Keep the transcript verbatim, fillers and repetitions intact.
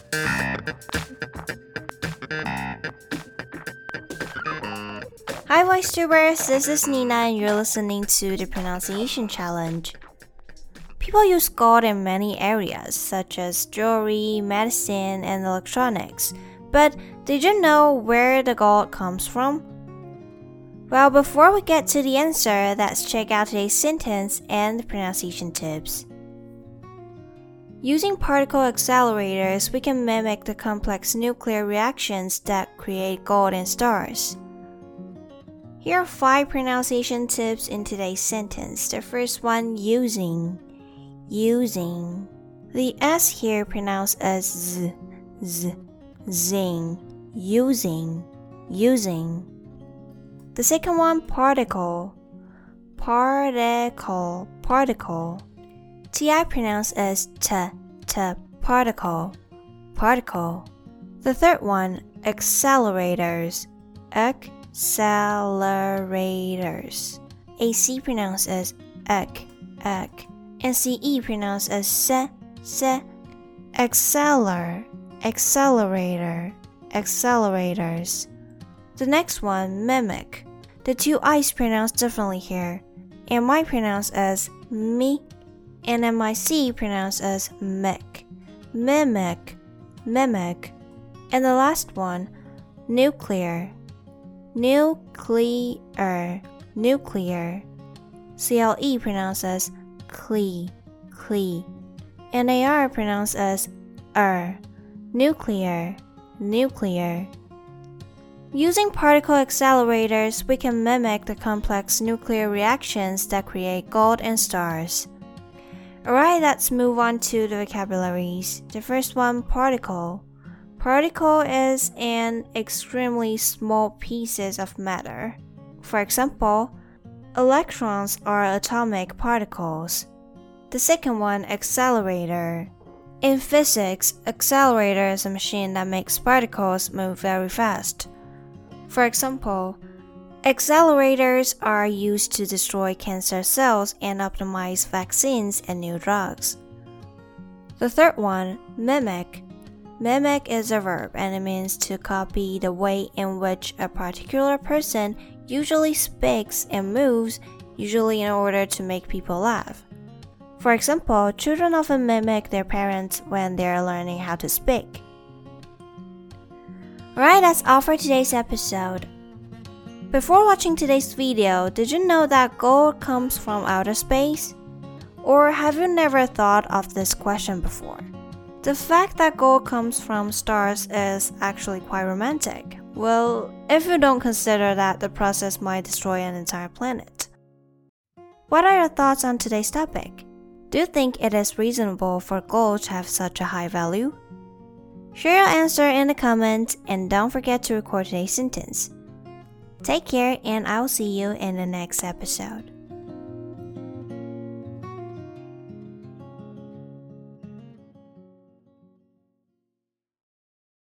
Hi VoiceTubers, this is Nina and you're listening to the Pronunciation Challenge. People use gold in many areas, such as jewelry, medicine, and electronics. But did you know where the gold comes from? Well, before we get to the answer, let's check out today's sentence and the pronunciation tips. Using particle accelerators, we can mimic the complex nuclear reactions that create gold in stars. Here are five pronunciation tips in today's sentence. The first one, using. Using. The S here pronounced as Z, Z, zing. Using, using. The second one, particle. Particle, particle. T I pronounced as T, T, particle, particle. The third one, accelerators. Accelerators. A C pronounced as ek, ek. And C E pronounced as se, se. Acceler, accelerator, accelerators. The next one, mimic. The two I's pronounced differently here. M I pronounced as mi, and M I C pronounced as mic. Mimic, mimic. And the last one, nuclear. Nuclear, nuclear. C L E pronounced as cle, cle. And A R pronounced as er. Nuclear, nuclear. Using particle accelerators, we can mimic the complex nuclear reactions that create gold in stars. Alright, let's move on to the vocabularies. The first one, particle. Particle is an extremely small pieces of matter. For example, electrons are atomic particles. The second one, accelerator. In physics, accelerator is a machine that makes particles move very fast. For example, accelerators are used to destroy cancer cells and optimize vaccines and new drugs. The third one, mimic. Mimic is a verb and it means to copy the way in which a particular person usually speaks and moves, usually in order to make people laugh. For example, children often mimic their parents when they are learning how to speak. Alright, that's all for today's episode. Before watching today's video, did you know that gold comes from outer space? Or have you never thought of this question before? The fact that gold comes from stars is actually quite romantic. Well, if you don't consider that the process might destroy an entire planet. What are your thoughts on today's topic? Do you think it is reasonable for gold to have such a high value? Share your answer in the comments and don't forget to record today's sentence. Take care and I'll see you in the next episode.